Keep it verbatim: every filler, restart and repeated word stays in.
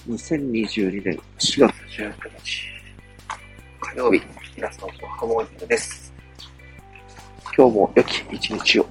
にせんにじゅうにねんしがつじゅうくにち火曜日、皆さんおはモーニングです。今日も良き一日を。